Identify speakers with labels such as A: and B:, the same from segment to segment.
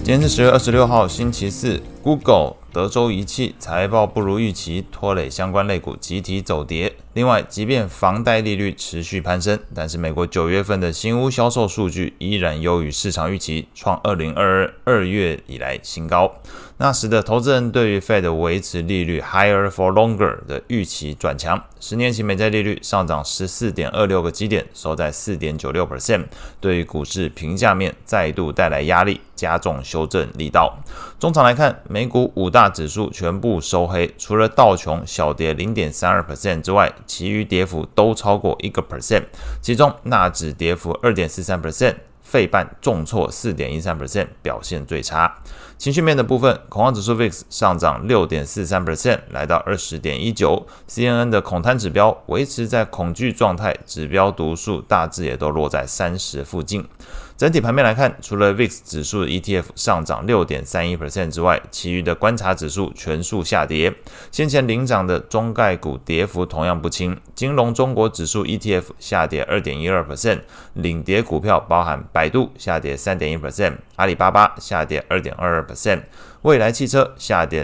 A: 今天是10月26號，星期四。Google、德州儀器財報不如預期，拖累相關類股集體走跌。另外，即便房貸利率持續攀升，但是美國9月份的新屋銷售數據依然優於市場預期，創2022 2月以來新高。那使得投資人對於 Fed 維持利率 higher for longer 的預期轉強。10年期美債利率上漲 14.26 個基點，收在 4.96%， 對於股市評價面再度帶來壓力，加重修正力道。中場來看，美股5大指數全部收黑，除了道瓊小跌 0.32% 之外，其餘跌幅都超過 1%， 其中納指跌幅 2.43%， 費半重挫 4.13%， 表現最差。情緒面的部分，恐慌指數 VIX 上漲 6.43%， 來到 20.19， CNN 的恐貪指標維持在恐懼狀態，指標讀數大致也都落在30附近。整體盤面來看，除了 VIX 指數的 ETF 上漲 6.31% 之外，其餘的觀察指數全數下跌。先前領漲的中概股跌幅同樣不輕，金龍中國指數 ETF 下跌 2.12%， 領跌股票包含百度下跌 3.1%， 阿里巴巴下跌 2.22%， 蔚來汽車下跌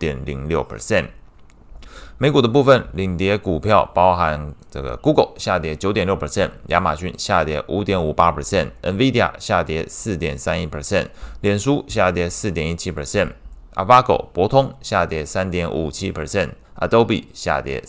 A: 6.06%。美股的部分，領跌股票包含Google 下跌 9.6%， 亞馬遜下跌 5.58%， NVIDIA 下跌 4.31%， 臉書下跌 4.17%， Avago 博通下跌 3.57%， Adobe 下跌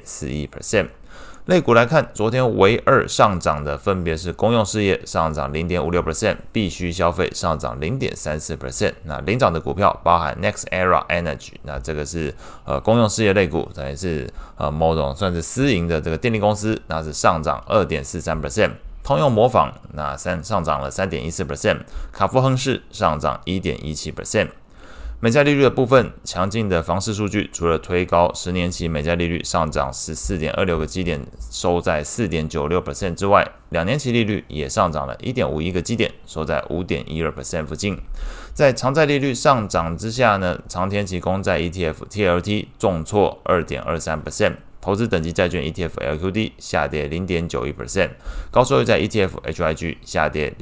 A: 3.41%。類股來看，昨天唯二上漲的分別是公用事業上漲 0.56%， 必需消費上漲 0.34%。那領漲的股票包含 NextEra Energy， 那這個是公用事業類股，等於是某種算是私營的這個電力公司，那是上漲 2.43%。通用模仿那上漲了 3.14%， 卡夫亨氏上漲 1.17%。美債利率的部分，強勁的房市數據除了推高10年期美債利率上漲 14.26 個基點，收在 4.96% 之外，2年期利率也上漲了 1.51 個基點，收在 5.12% 附近。在長債利率上漲之下呢，長天期公債 ETF TLT 重挫 2.23%， 投資等級債券 ETF LQD 下跌 0.91%， 高收益債 ETF HYG 下跌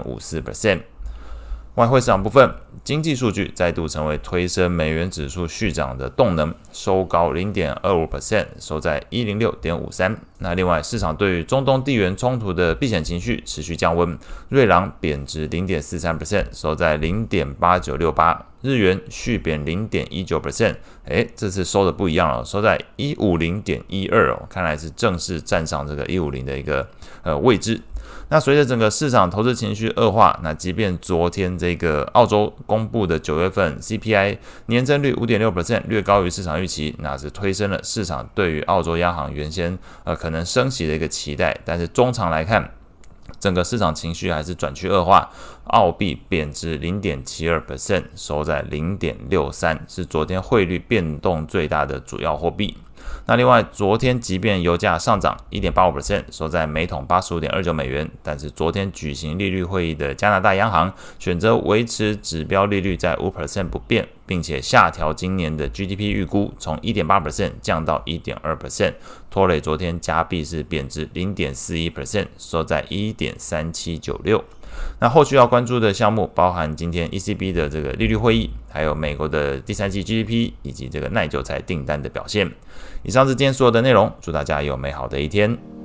A: 0.54%。外匯市場部分，經濟數據再度成為推升美元指數續漲的動能，收高 0.25%， 收在 106.53。那另外，市場對於中東地緣衝突的避險情緒持續降溫，瑞郎貶值 0.43%， 收在 0.8968， 日元續貶 0.19%， 這次收的不一樣了，收在 150.12， 看來是正式站上這個150的一個位置。那隨着整個市場投資情緒惡化，那即便昨天這個澳洲公布的9月份 CPI 年增率 5.6%， 略高於市場預期，那是推升了市場對於澳洲央行原先可能升息的一個期待。但是中長來看，整個市場情緒還是轉趨惡化，澳幣貶值 0.72%， 收在 0.63， 是昨天匯率變動最大的主要貨幣。那另外，昨天即便油價上漲 1.85%， 收在每桶 85.29 美元，但是昨天舉行利率會議的加拿大央行選擇維持指標利率在 5% 不變，並且下調今年的 GDP 預估，從 1.8% 降到 1.2%， 拖累昨天加幣是貶值 0.41%， 收在 1.3796。那後續要關注的項目包含今天 ECB 的這個利率會議，還有美國的第三季 GDP 以及這個耐久財訂單的表現。以上是今天所有的內容，祝大家有美好的一天。